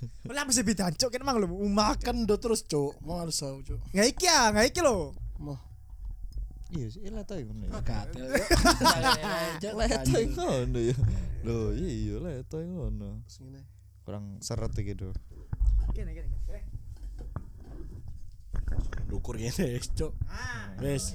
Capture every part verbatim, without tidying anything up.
Lah mesti beda cuk kan mang lho umak Kan do terus cuk, mau harus tahu cuk. nggak iki ya nggak iki lho. Mau Iya sih leto ngono ya. katel. Leto ngono ya. Lho iya leto ngono. Ngene. Kurang seret iki do. Kene kene kene. Dukur ngene cuk. Ah. Wes.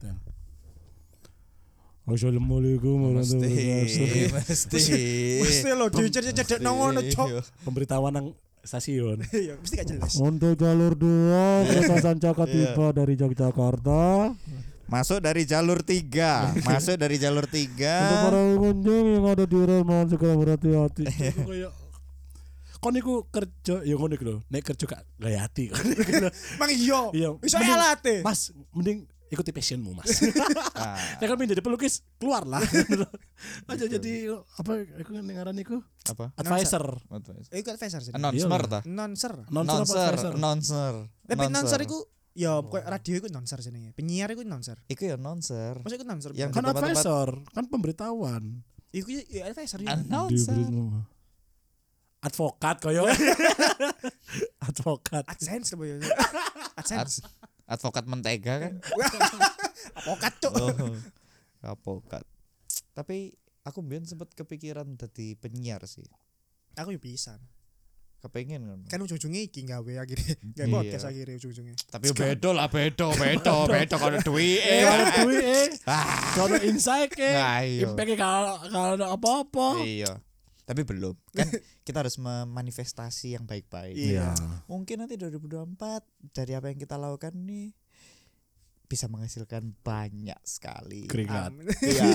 Assalamualaikum warahmatullahi wabarakatuh. Mesti. Mesti lho dicedek nang ngono cuk. Pemberitahuan nang stasiun. Iya mesti gak jelas. Untuk jalur dua kereta Sancaka tiba dari Yogyakarta. Masuk dari jalur tiga. Masuk dari jalur Untuk tiga. para pengunjung yang ada di rel mohon segera berhati-hati. Kayak kon niku kerja ya ngono iku lho. Nek kerja gak gaya hati. Mang iya. Iya. Iso Mending- alate. Mas, mending ikuti passionmu, Mas. Ah, Nek kan pengen jadi pelukis, keluar lah. Aja jadi apa iku ngaran iku? apa? Advisor. Eh iku advisor sih. Announcer ta? Nonser. Nonser apa Announcer, advisor? announcer. Tapi nonser iku ya koyo radio iku nonser jenenge. Penyiar iku nonser. Iku ya announcer. Masa iku nonser. Yang Kan tempat-tempat- advisor, kan pemberitahuan. iku ya advisor ya. Announcer. Advokat koyo. Advokat. AdSense apa ya? AdSense. Ad- advokat mentega kan? Apokat cuk. Oh, advokat. Tapi aku mbiyen sempet kepikiran dadi penyiar sih. Aku yo bisa. Kepengen kan. Kan ujung-ujungnya iki gawe akhirnya. Gawe Iya. podcast akhirnya ujung-ujungnya. Tapi beda lah, beda, beda, beda kalau duit. Eh, ada duit eh. Ah, Kalau insight eh. nah, iya. Impact kalau kalau ada apa-apa. Iya. Tapi belum. Kan kita harus memanifestasi yang baik-baik. Iya. Mungkin nanti dua ribu dua puluh empat dari apa yang kita lakukan nih bisa menghasilkan banyak sekali. Keringat. Amin. Iya,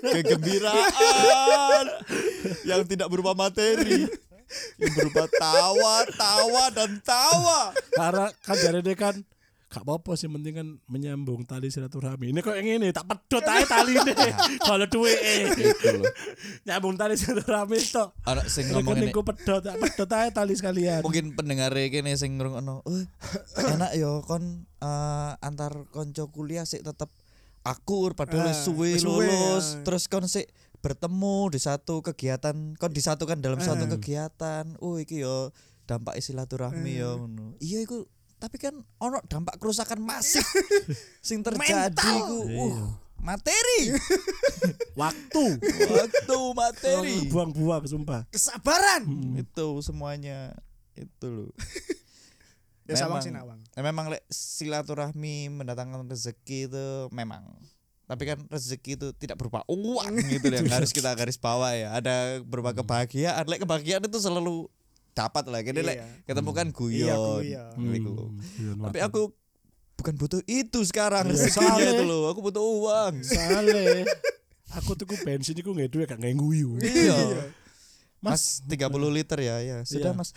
kegembiraan yang tidak berupa materi, yang berupa tawa, tawa dan tawa. Karena kan jare dia kan gak apa-apa sih, penting kan menyambung tali silaturahmi. Ini kok yang ini tak pedot ae taline. Kalau duwe Itu loh. nyambung tali silaturahmi tok. Anak sing ngomong ini, Rekeningku pedot, tak pedot ae tali sekalian. mungkin pendengar kene sing ngrungokno, "Eh, enak yo kon eh, antar konco kuliah sik tetep akur padahal Ah, suwe wis suwe, lulus, ah. terus kon sik bertemu di satu kegiatan, kon disatukan dalam suatu Ah. kegiatan. Oh iki yo dampak silaturahmi yo ngono." Iya iku, tapi kan ono dampak kerusakan masif sing terjadi iku. Uh, materi. Waktu. Waktu materi. Buang-buang sumpah. Kesabaran. Itu semuanya itu loh. Ya sawang Memang- sih nawang. Nah, memang le, silaturahmi mendatangkan rezeki itu memang. Tapi kan rezeki itu tidak berupa uang gitu yang harus kita garis bawah ya. Ada berupa kebahagiaan. Lek kebahagiaan itu selalu dapat lah. Jadi lek Iya. ketemu kan Iya, guyon. guyon. Gitu. Iya, Tapi mantap. aku bukan butuh itu sekarang Iya, rezekinya soalnya- itu loh. Aku butuh uang. Sale. Aku tuku bensin iku nggak duwe gak nguyu. Iya. Mas, Mas tiga puluh liter ya, ya. Sudah, Iya. Mas.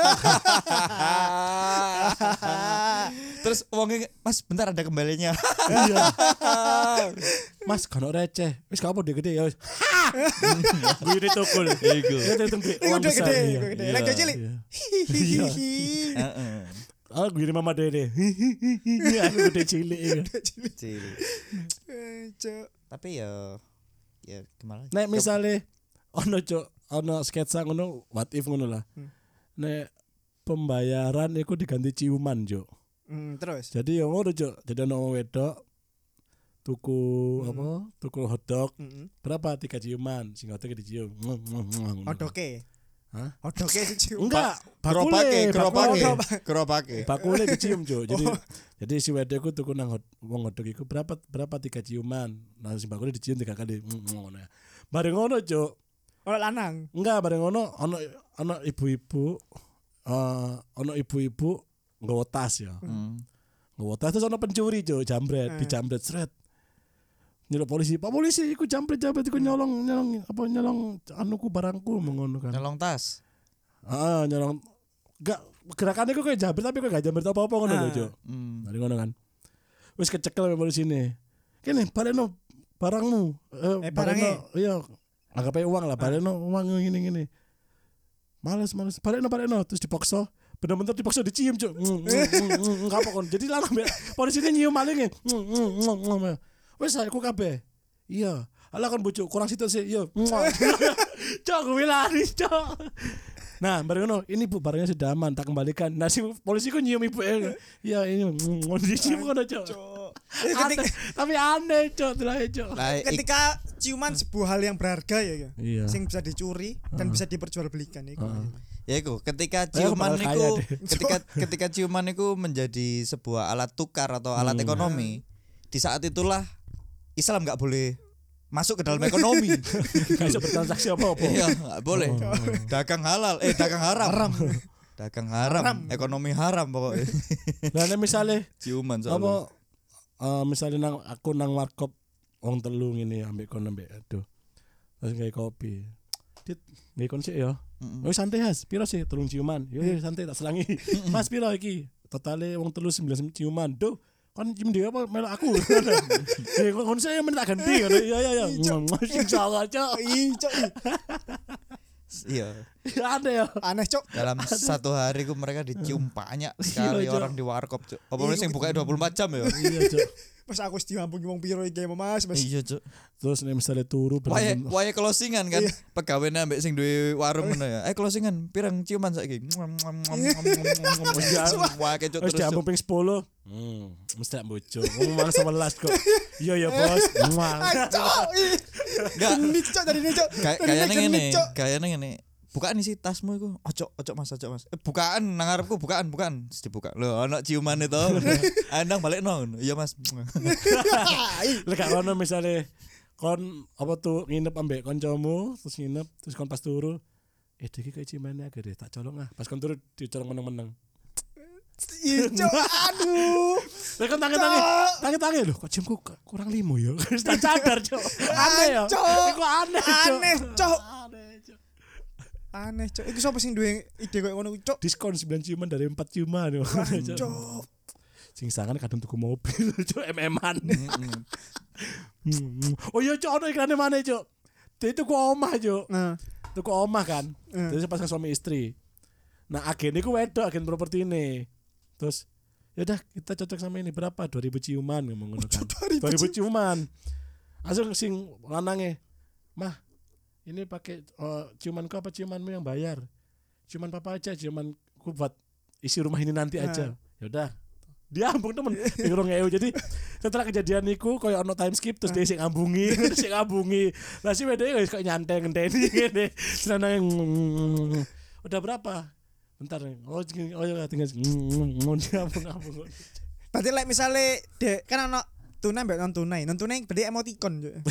Terus uangnya, Mas, bentar ada kembalinya. iya. Mas kan receh. Wis gak apa gede ya wis. Gue ini tukul. Iku. Ya itu gede. Iku Uang udah besar. gede, iya. iku gede. Iya. Lek cilik. Iya. Hihihi. Heeh. Ah, gue ini mama dede. Aku gede cilik. iya. Cilik. Eh, Cuk. Tapi ya ya gimana? Nek misale ono cuk, ono sketsa ngono, what if ngono lah. Hmm. Nek pembayaran iku diganti ciuman, cuk. Hmm, terus. Jadi yang ngono cuk, jadi ono wong wedok tuku Hmm. apa? Tuku hotdog. Heeh. Berapa tiga ciuman? Sing hotdog dicium. Odoke. Hah? Odoke dicium. Enggak, Gerobake, bakule, gerobake, bakule. gerobake. Bakule dicium, cuk. Jadi jadi si wedok iku tuku nang hot, wong hotdog iku berapa berapa tiga ciuman. Nah, si bakule dicium tiga kali. Ngono ya. Bareng ngono, cuk. Ora lanang. Enggak, bareng ngono ono ono ibu-ibu eh ono ibu-ibu nggawa tas ya. Hmm. Nggawa tas terus ono pencuri, cuk, jambret, Eh. dijambret sret. Nyeluk polisi, Pak polisi iku jambret-jambret iku nyolong nyolong apa nyolong anuku barangku mengono kan. Nyolong tas. Ah, nyolong enggak gerakannya kok kayak jambret tapi kok gak jambret apa-apa ngono lho, Ah. Cuk. Hmm. Dari ngono kan. Wis kecekel sama polisi ini. Kene baleno barangmu. Eh, Eh, baleno, iya. Anggap aja uang lah, baleno uang ngene-ngene. Males males, baleno baleno terus dipaksa. Bener-bener dipaksa dicium, Cuk. Enggak apa kon. Jadi langsung polisi ini nyium malinge. Wis aku kabeh. Iya. Alah kan bocok kurang situ sih. Iya. Cok gue lari, Cok. Nah, bareng ngono, ini Bu barangnya sudah aman, tak kembalikan. Nah, si polisi ku nyium ibu ya. Ya ini mau dicium kono, Cok. Cok. Aneh, tapi aneh, Cok, delahe, Cok. Nah, ik- Ketika ciuman sebuah hal yang berharga ya, ya. Iya. Sing bisa dicuri dan bisa diperjualbelikan iku. ya iku ketika Saya ciuman bakal kaya iku deh. ketika ketika ciuman iku menjadi sebuah alat tukar atau alat Hmm. ekonomi, di saat itulah Islam nggak boleh masuk ke dalam ekonomi. Gak bisa bertransaksi apa-apa. Iya, nggak boleh. Dagang halal, eh dagang haram. Dagang haram, Haram. ekonomi haram pokoknya. Lah nek misale Ciuman soalnya. apa eh misalnya nang aku nang warkop wong telu ngene ambek kon ambek aduh. Terus gawe kopi. Dit, gawe kon sik ya. Mm-mm. Oh santai Has, piro sih telung ciuman? Yo yo santai tak selangi. Mas piro iki? Totale wong telu sembilan ciuman. Duh, kan cium dia apa melok aku. Eh kon saya men tak ganti. Iya iya iya. Insyaallah, Cok. Ih, Cok. Iya. Ada ya. Aneh, Cok. Dalam satu hari ku mereka dicium banyak sekali Iya, Cok. orang di warkop, Cuk. Apa meneh sing bukanya dua puluh empat jam ya? Iya, Cok. Mas aku wis diampungi wong piro iki Mas, Mas. Iya, Cuk. Terus nek misale turu Wae bener-bener wae closingan kan. Iya. Pegawene ambek sing duwe warung ngono ya. Eh closingan pirang ciuman saiki. Wah kecuk wis terus. Cuk. diambung ping sepuluh. Hmm, mesti tak bojo. Ngomong malah sebelas kok. Iya ya, Bos. Mual. Cok. ih. Enggak. Genit, Cok, dari ini, Cok. Kayak Dari kayaknya genit, ngene, Cok. kayaknya ngene. Bukaan isi tasmu iku. Ojo, ojo Mas, ojo Mas. Eh, bukaan nang ngarepku, bukaan, bukaan. Terus dibuka. Lho, ana ciuman itu. Andang balik nong. Iya Mas. Lek gak ono misale kon apa tuh nginep ambek kancamu, terus nginep, terus kon pas turu, eh iki kayak cimane agak deh, tak colong ah. Pas kon turu dicolong meneng-meneng. Ih, Cok. Aduh. Lek kon tangi-tangi, tangi-tangi lho, kok ciumku k- kurang limo ya. Wis tak sadar, Cok. Aneh ya. Cok. Iku aneh, Cok. Aneh, Cok. Aneh, Cok. Aneh, Cok. Iku sapa sing duwe ide koyo ngono, Cok? Diskon sembilan ciuman dari empat ciuman. Cok. Sing sangan kadang tuku mobil, Cok, em eman. Hmm. Oh iya, Cok, ono ikrane mana, Cok? Dia itu ku omah, Cok. Nah, Tuku omah kan. Hmm. Jadi pasang suami istri. Nah, agen iku wedok, agen properti ini. Terus ya udah kita cocok sama ini berapa? dua ribu ciuman ngomong ngono kan. dua ribu dua ribu ciuman. Langsung sing lanange, "Mah, ini pakai uh, ciumanku apa ciumanmu yang bayar?" "Ciuman papa aja, ciumanku buat isi rumah ini nanti aja." Ya udah. Dia ambung temen bingung ngewe. Jadi setelah kejadian iku koyo ono time skip terus dia sing ngambungi, terus sing ngambungi. Lah si wedok wis koyo nyantai ngenteni ngene. Senane udah berapa? Bentar. Oh, oh ya tinggal ngomong ngambung-ngambung. berarti lek misale dek kan ono tunai mbak non tunai. Non tunai berarti emoticon, Cok.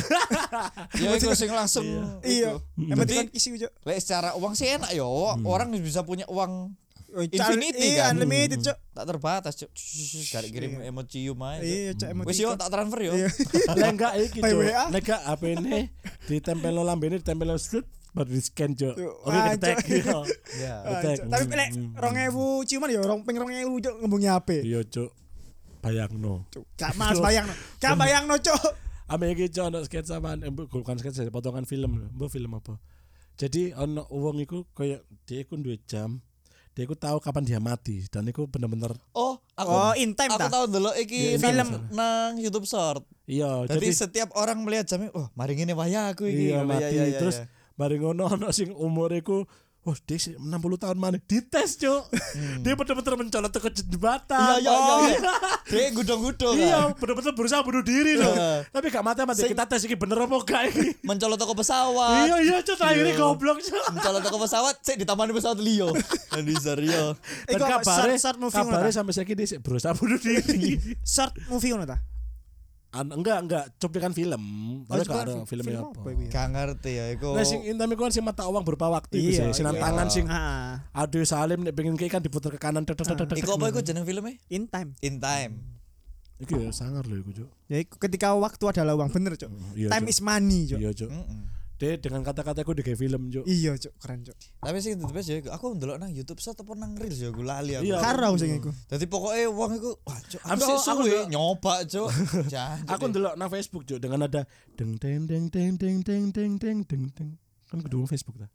Ya iku sing langsung. Iya. iku. Emoticon Berarti isi, Cok. lek secara uang sih enak ya. Orang bisa punya uang Oh, Infinity iya, kan? unlimited, Cok. tak terbatas, Cuk. Gak kirim emoji cium aja. Cuk. Iya, Cok, emoticon. Wis yo tak transfer yo. Iya. Lah enggak iki, By Cuk. W A. Nek gak H P ini ditempel lambene ditempel strut baru di scan, Cuk. Tuh, Oke, ah, ketek Cuk. iya. Ya. Ah, Betek. Cok. Tapi lek Hmm. rong ewu ciuman ya rong ping rong ewu, Cok, ngembungi H P. Iya, Cuk. Bayangno. Cuk, gak mas bayangno. Gak bayangno, Cok. Ame iki Cuk ono sketsa man, eh, bukan sketsa, potongan film. Mbok film apa? Jadi ono wong iku koyo dia iku duwe jam. Dia iku tahu kapan dia mati dan iku bener-bener Oh, aku Oh, in time aku ta? tahu dulu iki Iya, film iya. nang YouTube Short. iya Jadi jadi setiap orang melihat jamnya, oh, mari ngene wayah aku iki. iya Oh, mati iya, iya, terus iya. bareng ngono ono sing umur iku oh dia sih enam puluh tahun mana dites, Cuk. Dia bener-bener mencolot ke Iya, jembatan. iya, Oh, iya, iya. Dia gudong-gudong Iya, kan. bener-bener berusaha bunuh diri loh. Iya. Tapi gak mati-mati Sing- kita tes iki bener apa gak iki. Mencolot toko pesawat. Iya iya Cuk, akhirnya Iya. goblok, Cuk. Mencolot toko pesawat, sik ditamani pesawat Leo. Anissa Rio. Dan Iku apa, kabare short- short movie ngono kabare ta? sampai saiki dia sik berusaha bunuh diri. Short movie ngono ta? An- enggak enggak cuplikan film. Tapi cuplikan gak ada film- filmnya film apa. apa iku ya? Gak ngerti ya iku. Nah sing intame ku kan sing mata uang berupa waktu iku Iya, sih. Sinan iya. tangan sing Ah, aduh Salim nek pengen kayak kan diputer ke kanan tek tek tek tek. Iku apa iku jeneng filmnya? in time. In Time. Iki ya sangar lho iku, Cuk. Ya iku ketika waktu adalah uang, bener, Cuk. Iya, Time Cuk. is money, Cuk. Iya, Cuk. Mm-mm. Dia dengan kata-kataku di film, Cuk. Iya, Cuk, keren, Cuk. Tapi sing the best ya iku, aku ndelok nang YouTube Short apa nang Reels ya aku lali aku. Iya. Karo sing iku. Dadi pokoknya wong iku wah cuk, aku Aku- sih aku suwe ndelok- nyoba cuk. Jangan. Aku ndelok nang Facebook, Cuk, dengan ada deng deng deng deng deng deng deng deng deng deng. Kan kudu Facebook ta.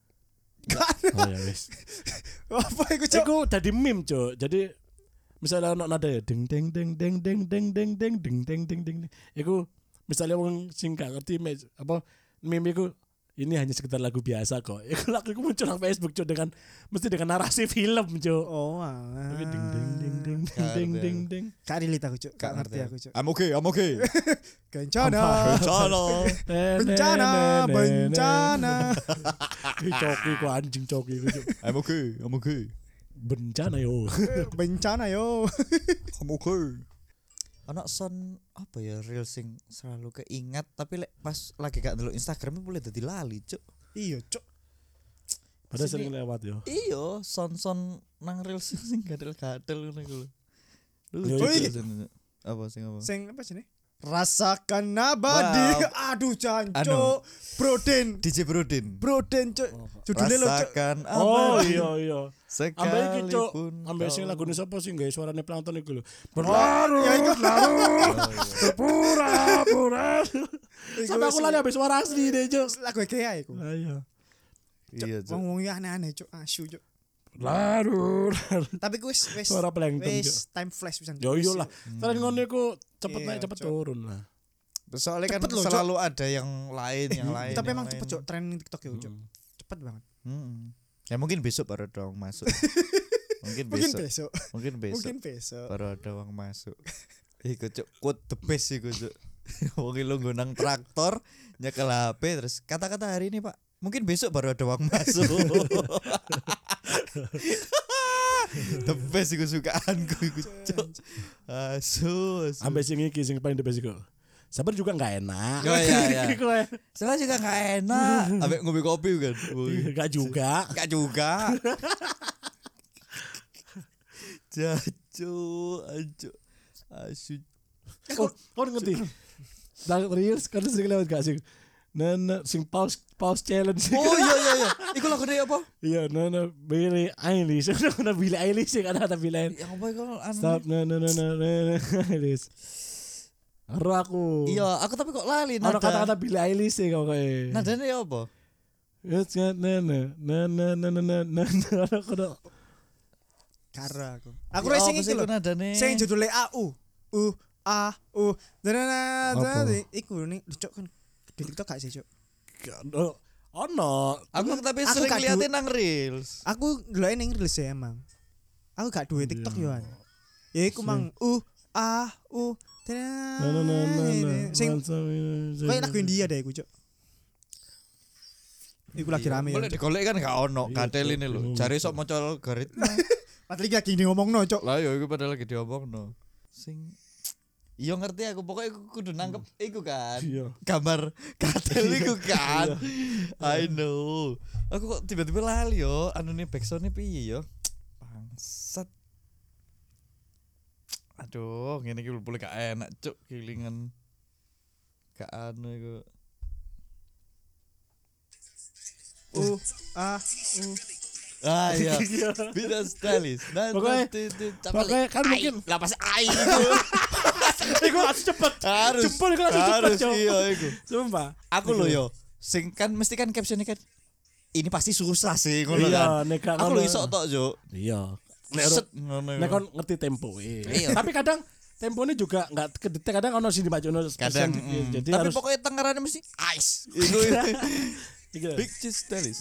Oh ya wis. Apa iku, Cuk? Iku dadi meme, Cuk. Jadi misalnya ono nada ya deng deng deng deng deng deng deng deng deng deng deng deng. Iku misalnya wong sing gak ngerti me- apa meme iku ini hanya sekedar lagu biasa kok. Itu lagu itu muncul di Facebook Cuk dengan mesti dengan narasi film Cuk. Oh alah. Ding ding ding ding ding ding ding. Gak relate aku cuk, gak ngerti aku cuk. I'm okay, I'm okay. Kencana. Bencana. Bencana, bencana. Coki ku anjing coki ku Cuk. I'm okay, I'm okay. Bencana yo. Bencana yo. I'm okay. Anak son apa ya real sing selalu keingat tapi lek pas lagi gak ndelok Instagram boleh dadi lali, Cuk. Iya cuk. Padahal Sini- sering lewat yo. Iya, son-son nang real sing sing gadel-gadel ngono iku lho. Ya, Lucu itu. sini. Apa sing apa? Sing apa sih? Rasakan nabadi. Aduh Anu. jancuk. Broden. D J Brodin. Broden cuk. Judulnya lo cuk. Rasakan Oh abadi iya iya. Ambek iki Cuk, sekalipun ambek sing kau- lagune sapa sih gawe suarane plankton iku lho. Ya Berlarut, iku. larut, pura-pura. Iku Sampai aku sing- lali habis suara asli deh, Cuk. lagu Ikea iku. Ayo. Iya, Cuk. Wong-wong iki aneh-aneh cuk, asu cuk. Larut, larut. Tapi ku wis wis Suara plankton, Cuk. wis time flash pisan. Yo yo lah. Hmm. Kalian ngono iku cepet Iya, naik cepet Cuk. turun lah. Soalnya kan Cepet loh, Cuk. selalu ada yang lain, yang lain. Tapi yang emang lain. cepet cuk, trending TikTok ya cuk. Hmm. Cepet banget. Hmm. Ya mungkin besok baru ada uang masuk. Mungkin Mungkin besok. besok. Mungkin besok Mungkin besok. baru ada uang masuk. Iku Cuk, quote the best iku Cuk. Wong lu nggonang traktor, nyekel H P terus kata-kata hari ini, Pak. Mungkin besok baru ada uang masuk. The best iku sukaanku iku Cuk. Asu. asu. Ambek sing iki sing paling the best iku. Sabar juga enggak enak. Oh, iya, iya. Iku ae. Soalnya juga gak enak. Ambek ngombe kopi kan. Enggak juga. Gak juga. Jacu, acu, asu. Oh, kau ngerti? Nang reels kan sering lewat gak sih? Nana sing pause pause challenge. Oh iya iya iya. Iku lagu dia apa? Iya, Nana Billie Eilish. Nana Billie Eilish sih ada kata Billie Eilish. Yang apa iku anu? Stop Nana Nana Nana Eilish. Aru aku. Iya, aku tapi kok lali Ada nada. kata-kata Billie Eilish sih kau kayak. Nadanya ya apa? It's got Nana Nana Nana Nana Nana. Aku udah. Karo aku. Aku Ya, racing apa iki sih lho. iku nadane? Sing judulnya A U. U A U. Dana Apa? dana iku nih cuk kan di TikTok gak sih cuk? Oh, oh no. Aku tapi Aku sering gak liatin nang reels. Aku ndeloke ning reels ya emang. Aku gak duwe TikTok yo an. Ya iku mang U A U. Nana Nana Nana. Sing kayak lagu India deh iku cuk. Iku lagi rame ya. Boleh digolek kan gak ono, gadel ini lho. Jare sok maca algoritma. Padahal iki lagi ngomongno cuk. Lah yo iku padahal lagi diomongno. Sing Iya ngerti aku pokoknya aku kudu nangkep iku kan. Iya. Gambar gadel iku kan. I know. Aku kok tiba-tiba lali yo, anune backsound-e piye yo? Bangsat. Aduh, ngene iki boleh gak enak cuk kilingan. Gak anu iku. U A U. Ah iya. Beda stylish. Nah, Pokoknya- tu- tu- tu- Pokoknya kan Ai, mungkin lah pas ai itu. iku harus cepet. Harus. Jempol iku langsung cepet, Harus Cok. iya iku. Sumpah. Aku loh yo, sing kan mesti kan captionnya kan ini pasti susah sih ngono Iya, kan. nek gak Aku ngono. lo iso tok yo. Iya. Nek Set ngono. nek iku. kon ngerti tempo eh. Iya. Tapi kadang temponya juga enggak kedetek, kadang ono sing dibacono Kadang persen, mm. jadi tapi harus pokoknya tengarannya mesti ice. Iku Iki lho. big cheese stylish.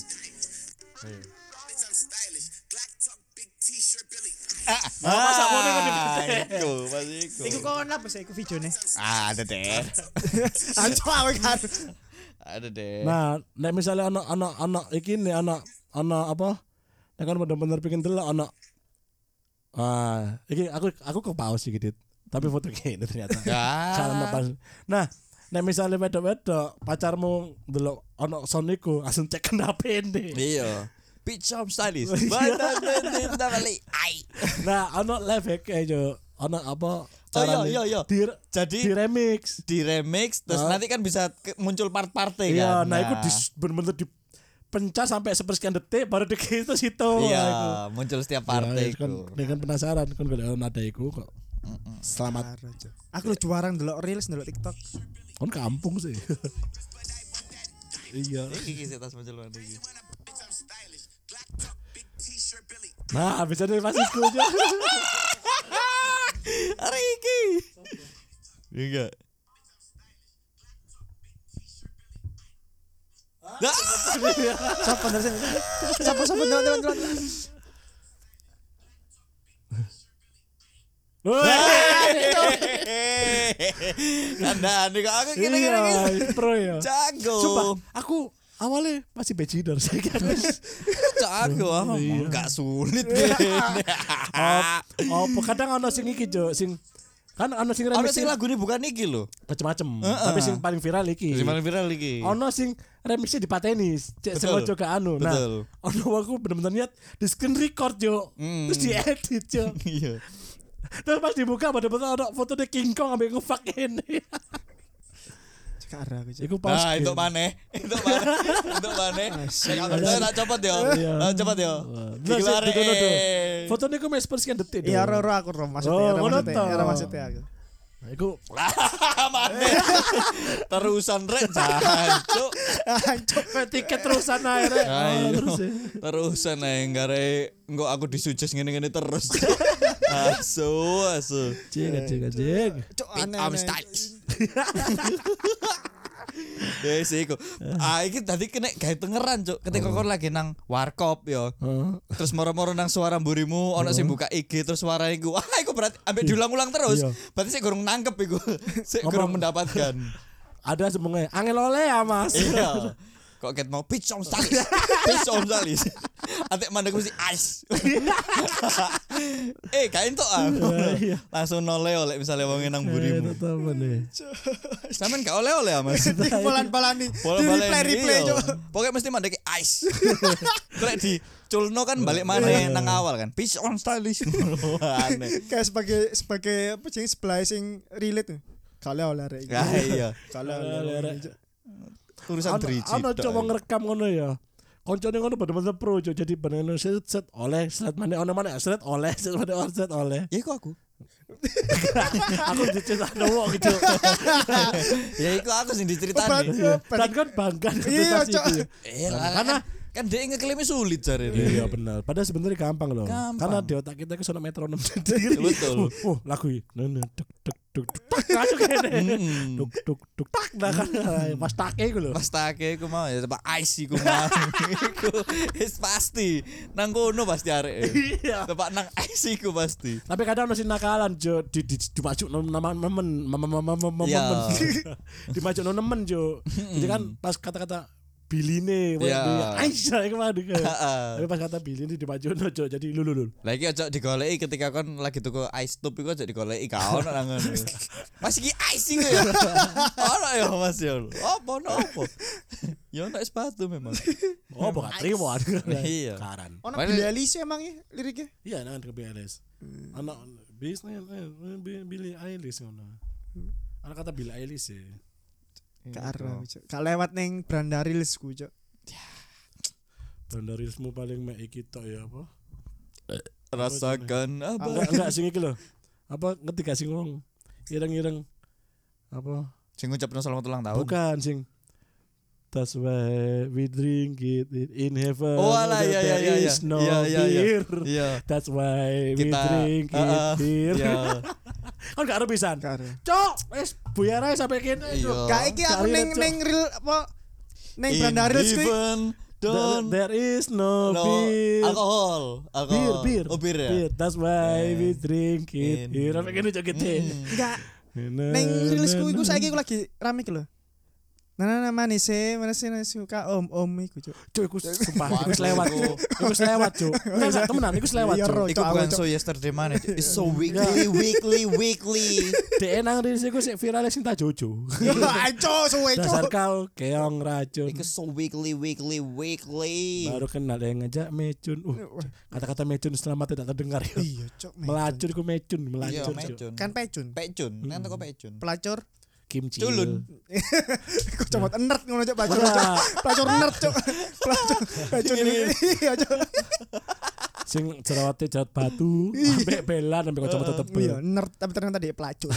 Ah, masa ngene kan dipetek. Iku, pas iku. Iku kon apa sih iku videone? Ah, ada deh. Anco awe kan. Ada deh. Nah, nek misalnya anak anak anak iki nih anak anak apa? Nek kan bener-bener bikin delok anak. Ah, iki aku aku ke pause iki, Dit. Tapi foto gini ternyata. Ya. Karena pas. Nah, nek misalnya wedok-wedok pacarmu delok ana sound iku, langsung cek kenapa ini. Iya. Beach home stylish. Badan bentin balik. Ai. Nah, ana live hack aja. Ana apa? Oh iya iya iya. Di, Jadi di remix. di remix terus Nah. nanti kan bisa ke- muncul part-partnya Iya, kan. nah, itu di, bener-bener dipencah sampai sepersekian detik baru di itu situ. Iya, Nah, iku. muncul setiap Ya, partai kan, iku. dengan penasaran kan kalau ada iku kok. Selamat. Karo, Cuk. Aku lu juarang ndelok reels ndelok TikTok. Kon kampung sih. Iya. Iki iki tas muncul mana iki. Nah, bisa nih pas iku aja. Hari iki. Iya. Sopo ndak sing. Sopo sopo ndak ndak ndak. Kandaan kok aku kira-kira Iya, gitu. pro ya. Jago. Sumpah, aku awalnya masih bejidor saya kira. Jago. ah. Iya. Enggak sulit. Oh, oh, kadang ono sing iki, Jo, sing kan ono sing Ono remix sing lagune bukan iki lho. macem-macem, Heeh. tapi sing paling viral iki. Sing paling viral iki. Ono sing remixnya dipateni, cek Betul. sengaja gak anu. Nah, Betul. ono aku bener-bener niat di screen record, Jo. Hmm. Terus diedit, Jo. Iya. Terus pas dibuka bener-bener ono foto King Kong ambek ngefuck ini. Kara aku. Cuk. Iku pas. Nah, itu maneh. Itu maneh. Itu maneh. Nek kabar saya tak copot yo. Iya. Tak copot yo. Nah, Gila sih, duduk, duduk. re. Foto niku mes persekian detik. Iya dong. ro aku ro maksudnya, Oh, ora ngono maksudnya, toh. ora maksudnya aku. Nah, iku Maneh. Terusan rek jancuk. Hancur. tiket terusan akhirnya. Ayo. Oh, terus ya. Terusan ae gare engko aku disujes ngene-ngene terus. Asu, asu. Cing, cing, cing. Cuk Pit aneh. arm styles. Ya sih iku. Ah iki tadi kena gawe tengeran, Cuk. Ketika kon lagi nang warkop yo. Heeh. Terus moro-moro nang suara mburimu ono sing buka I G terus suara iku. Wah, iku berarti ambek diulang-ulang terus. Iya. Berarti sik gurung nangkep iku. Sik Ngomong. gurung mendapatkan. Ada semuanya. Angel oleh ya, Mas. Iya. Kok ket mau pitch on stalis. Pitch on stalis. Atek mandek mesti ice. eh, kain tok ah. Iya. Langsung nole oleh misalnya wong nang mburimu. Temen nih. Sampeyan gak oleh-oleh ya, Mas. Bolan-balani. Bola Di balik replay replay Cuk. Pokoknya mesti mandek ice. Krek di culno kan balik mana nang awal kan. Pitch on stalis. Aneh. Kayak sebagai sebagai apa sih sebelah sing relate tuh. Kalau oleh rek. Ya iya. Kalau Oleh, oleh. Rek. Tulisan Ano driji. ano coba ngerekam ngono ya. Koncone ngono bener-bener pro, Jo. Jadi bener-bener set set oleh set mana ono mana set oleh set mana ono set oleh. Ya iku aku. Aku diceritakan wong gitu. Ya iku aku sing diceritani. Iya. Dan kan bangga dengan Iya, prestasi Cok. itu. Eh, Karena kan dia ngeklaimnya sulit cari iya benar. Padahal sebenarnya gampang loh. Gampang. Karena di otak kita itu sono metronom sendiri. Betul. Oh, lagu ini. Nah, nah, tuk tuk tuk tuk tak langsung kene. Hmm. Tuk tuk tuk tak nah kan pas take iku lho. Pas take iku mau ya tempat ice iku mau. Iku wis pasti. Nang kono pasti arek. Iya. Tempat nang ice iku pasti. Tapi kadang masih nakalan Jo di di dimajuk nama nemen mama Iya. dimajuk nemen Jo. Jadi kan pas kata-kata Biline, Iya. Aisyah iku mah dike. Heeh. Tapi pas kata Biline dimajuk Jo jadi lulu lulu. Lah iki aja digoleki ketika kon lagi tuku ice tube iku aja digoleki ka ono nang ngono. Mas iki ice iku ya. Ono ya Mas ya. Apa ono apa? Ya ono sepatu memang. Oh, bukan terima. Iya. Karan. Ono Mana- Billie Eilish emang ya liriknya. Iya, nang ke B L S. Anak bisnis Billie Eilish ngono. Anak kata Billie Eilish ya. Karo Cuk. Ka lewat ning Branda Reels ku Cuk. Bandarismu paling mek iki tok ya apa? Rasakan apa? Enggak enggak sing iki lho. Apa ngerti gak sing ngomong? Ireng-ireng apa? Sing ngucapno selamat ulang tahun. Bukan sing That's why we drink it in heaven. Oh, alah, iya, iya, There iya, iya. is no Iya, iya, iya. beer. Iya. That's why we Kita drink it Heeh. here. Iya. Kan gak ada pisan. Karo. Cok, wis buyar ae sampai kene. Iya. Cok. Gak iki aku Kali ning Cuk. ning real apa ning In Branda Reels kuwi. heaven, There, don't there is no, no beer. alkohol. Bir, Alkohol. bir. Oh, bir ya. Bir. That's why Eh. we drink it In- here. Sampai kene cok gede. Enggak. Ning rilis ku iku saiki aku lagi rame iki lho. Nah, nah, nah, manis sih, manis sih, manis suka om om iku Cuk. Cuk, iku sumpah, Wah, iku lewat. iku. Iku lewat, Cuk. Enggak, enggak, temenan, iku lewat, Iya, Cuk. Ro. Iku Cok, bukan aku, so yesterday man. It's so weekly, weekly, weekly. Dek nang rilis iku sik viral sing tak jojo. Ayo suwe Dasar Cuk. kau keong racun. Iku so weekly, weekly, weekly. Baru kenal yang ngajak mecun. Uh, kata-kata mecun selama tidak terdengar ya. Iya Cuk. Melacur ku mecun, Iya, melacur. Cuk. mecun. Kan pecun. Pecun, kan toko pecun. Pelacur. Kimchi. Culun. Kok cuma nerd ngono Cuk pelacur. Ora. Cuk. Pelacur nerd Cuk. Pelacur. Pelacur ini. Iya Cuk. Sing jerawate jerawat batu, ambek belan ambek kacamata Iya, tebel. nerd tapi ternyata dia pelacur.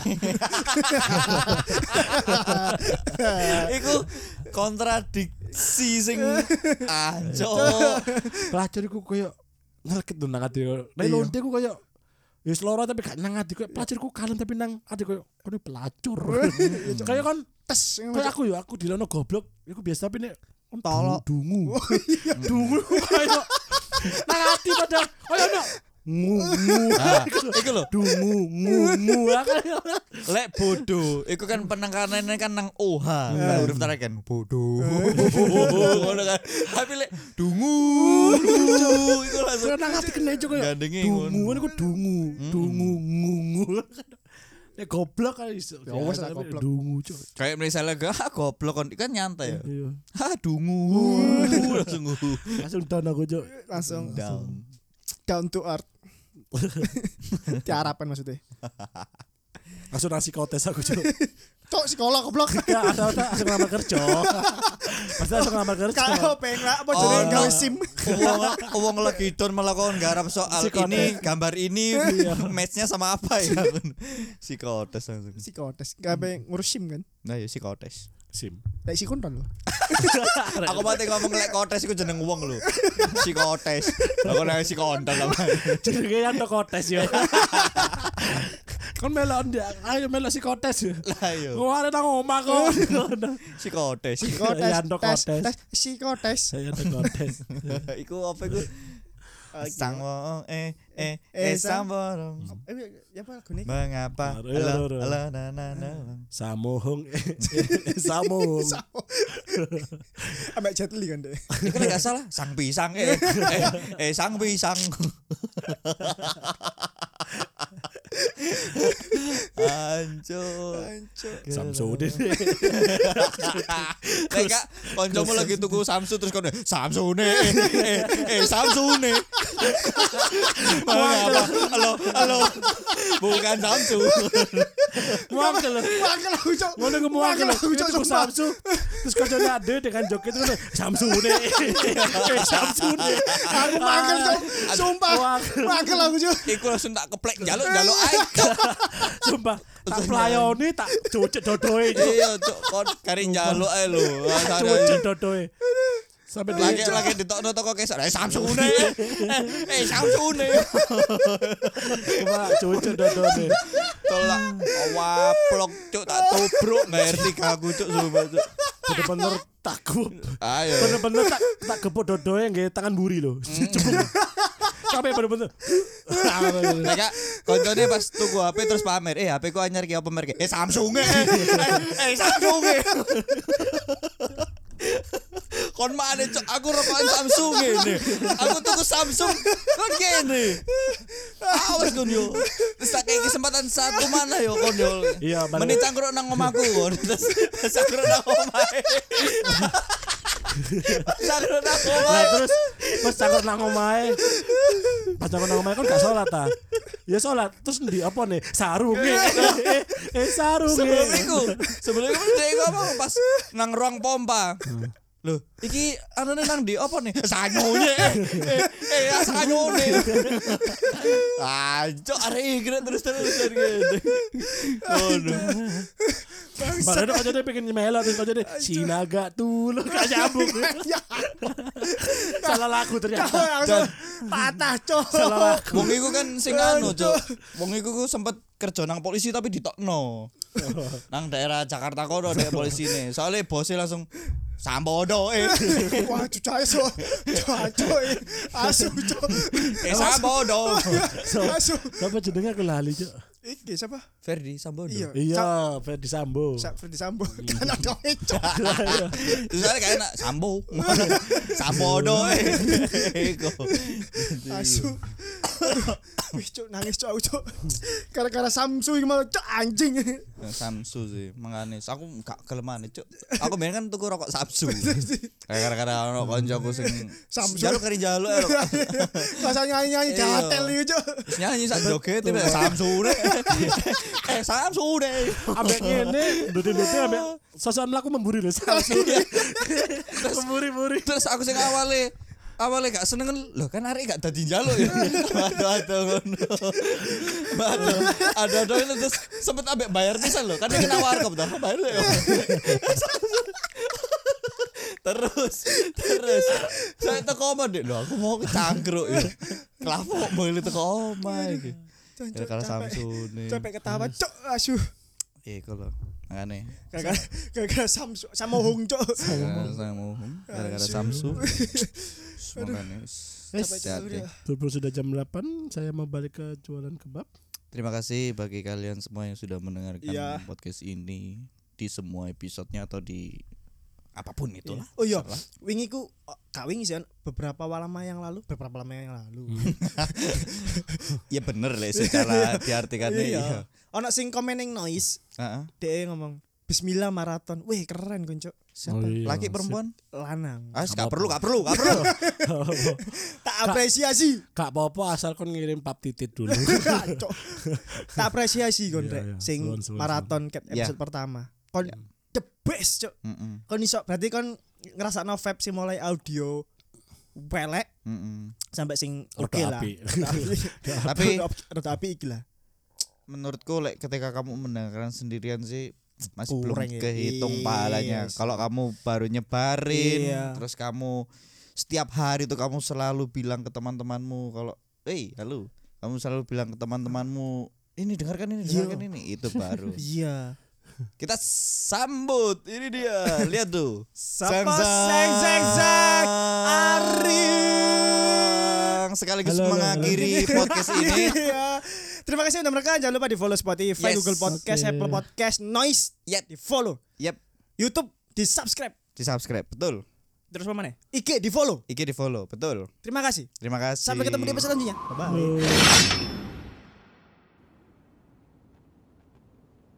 Iku kontradiksi sing anjo. Pelacur iku koyo ngeleket nang ati. Nek Iya. lonte ku koyo wis loro tapi gak nang ati koyo pelacur ku kalem tapi nang ati koyo kono pelacur. Kayak kan Tes. kayak aku ya aku dilono goblok, iku biasa tapi nek Tolok. Dungu. Dungu kayak nang ati pada koyo ono ngu ngu. Nah, iku lho. Dungu ngu ngu. Lek bodoh, iku kan penekanannya kan nang O H, nah, huruf terakhir kan bodoh. Ngono kan. Tapi lek dungu, iku langsung Nang ati kene cuk koyo gandenge dungu niku dungu. Dungu ngu ngu. Nek goblok kan iso. Ya wes lah, goblok. Dungu cuk. kayak misalnya gak ah, goblok kan kan nyantai ya. Iya. Ha dungu. Langsung Langsung down aku cuk. Langsung down. down to earth. Tiarapan maksudnya. Langsung nasi kotes aku cuk. Cok sekolah goblok. Gak ada ada langsung ngelamar kerja. Pasti langsung ngelamar kerja. Kalau pengen apa Oh, jenenge no. gawe SIM. Uang uang lagi don melakukan garap soal Psikotes. ini gambar ini matchnya sama apa ya psikotes langsung. Psikotes, gak pengen ngurus SIM kan. Nah ya psikotes. Sim. Lek si konton lho. Aku mati ngomong lek kotes iku jeneng wong lho. Psikotes. Aku nek psikotes lah. Jenenge yang kotes ya. Kon melok ndak, ayo melok si kotes ya. Lah yo. Oh ada nang omah kok. Psikotes. Psikotes. Yanto Tes, kotes. tes psikotes. Saya ada kotes. Iku apa iku? Sang wong eh eh Eh, eh sang wong. Eh, ya apa lagu ini? Mengapa? Aduh, aduh, Halo aduh. halo na na na. Samohong. Samohong. Ambek Jet Li kan deh. Iku nek gak salah sang pisang eh eh, eh sang pisang. Ancur. Ancur. Samsudin. Nek Kak, koncomu lagi tuku Samsu terus kono Samsune. Eh eh Samsune. Mengapa? Halo halo. Bukan Samsu. Muangkel. Mangkel aku cok. Ngono ku muangkel. Mangkel aku cok Itu sumpah. Samsu. Terus kocone ade dengan joget itu kan Samsune. Eh Samsune. Aku mangkel cok. Sumpah. Mangkel. Mangkel aku cok. Iku langsung tak keplek njaluk-njaluk ae. Sumpah, tak pelayoni tak cucuk dodoe. Iya, cuk, kon kari njaluk ae lho. Cucuk dodoe. Sampai Lagi lagi lagi ditokno toko kesar. Eh Samsune. Eh Samsune. Cuma cucuk dodoe. Tolak waplok cuk tak tobruk nggak ngerti aku cuk sumpah cuk. Bener-bener takut. Ayo. Bener-bener tak tak gepuk dodoe nggih tangan buri lho. Cepuk. Sampai bener-bener. Nek Kak, koncone pas tuku H P terus pamer, "Eh, H P ku anyar ki apa merek?" "Eh, Samsung." Eh, eh Samsung. Kon mana cok aku rokokan Samsung ini. Aku tuku Samsung kon kene. Awas kon yo. Terus tak kayak kesempatan satu mana yo kon yo. Iya, bener. Menit cangkruk nang omahku kon. Terus cangkruk nang omahe. Cangkruk nang Lah omahe. terus pas cangkur nang omahe. Pas cangkur nang omahe kan gak salat ta. Ya salat terus ndi apa nih? Sarunge. Eh, eh sarunge. Sebelum itu, sebelum itu dia ngomong pas nang ruang pompa. Loh, iki anane nang di apa nih? Sanyone. Eh, eh, eh sanyone. Ah, cok arek iki terus-terus gitu. Oh, no. Padahal kok jadi pengen nyemela terus kok jadi sinaga tuh lo gak nyambung. Salah lagu ternyata. Langsung patah cok. Salah lagu. Wong iku kan sing anu, cok. Wong iku ku sempet kerja nang polisi tapi ditokno. Nang daerah Jakarta kono dek polisine. Soalnya bosnya langsung Sambodo eh. Wah cucai so. Cucai. Asu cok. Eh Sambodo. So, Asu. siapa jenenge aku lali, Cuk? Iki siapa? Ferdi Sambodo. Iya. Iya, Ferdi Sambo. Sa Freddy Sambo. Kan ada cok. Terus ada kayak enak Sambo. Sambodo eh. Iku. Asu. Wih cok nangis cok aku cok. Gara-gara Samsu iki malah cok anjing. Samsu sih menganis. Aku gak kelemahan cuk. Aku main kan tuku rokok Samsu. Kayak gara-gara ono koncoku sing Samsu. jaluk kari jaluk ya. Masa nyanyi-nyanyi Iya. gatel iki cok. Terus nyanyi sak joget tiba Samsu deh. Eh Samsu deh. Ambek ngene, ndute-ndute ambek sosokan mlaku memburi lho. Memburi-muri. Terus aku sing awale awalnya gak seneng kan loh kan arek gak dadi njaluk ya. Aduh aduh ngono. Aduh aduh aduh ini terus sempet ambek bayar pisan lho kan dia kena warkop dah bayar ya. Terus terus saya teko omah dek lho aku mau ke cangkruk ya. Kelapok mau teko omah iki. Gara-gara Samsung nih. Sampai ketawa cok asu. Iku lho. Makane. Gara-gara gara-gara Samsu sama Hong cok. Gara-gara Samsu. Gara-gara Samsu. Makane. Hati-hati. Berhubung sudah jam delapan, saya mau balik ke jualan kebab. Terima kasih bagi kalian semua yang sudah mendengarkan Iya. podcast ini di semua episodenya atau di apapun itulah. Oh iya, wingi ku oh, gak wingi sih beberapa lama yang lalu, beberapa lama yang lalu. Iya bener lah secara diartikannya Iya. iya. Ono sing komen ning noise, Heeh. dia ngomong Bismillah maraton. Wih, keren Konco. Siapa? Oh, iya. Laki perempuan? Lanang. Ah, gak perlu, gak perlu, gak perlu. Tak apresiasi. Kak Popo asal kon ngirim pap titit dulu. Cok. Tak apresiasi kon Iya, rek iya. sing Suwun, suwun, maraton ket Iya. episode pertama. Kon Iya. the best, Cok. Heeh. Kon iso berarti kon ngrasakno vibe sing mulai audio pelek Heeh. sampai sing Rada oke lah. apik. Tapi rada apik iki lah. menurutku like, ketika kamu mendengarkan sendirian sih masih belum Kurang ya. kehitung Iya pahalanya. sih. Kalau kamu baru nyebarin, Iya. terus kamu setiap hari tuh kamu selalu bilang ke teman-temanmu kalau, "Hey, halo." Kamu selalu bilang ke teman-temanmu, "Ini dengarkan ini, Iya. dengarkan ini." Itu baru. Iya. Kita sambut. Ini dia. Lihat tuh. Sapa seng seng seng Ari. Sekaligus Halo, halo, mengakhiri podcast ini. Iya. Terima kasih sudah mendengarkan. Jangan lupa di follow Spotify, Yes. Google Podcast, Oke. Apple Podcast, Noise. Yep. Di follow. Yep, YouTube di subscribe. di subscribe. Betul. Terus apa mana? I G di follow. I G di follow. Betul. Terima kasih. Terima kasih. Sampai ketemu di episode selanjutnya. Bye bye. Oh.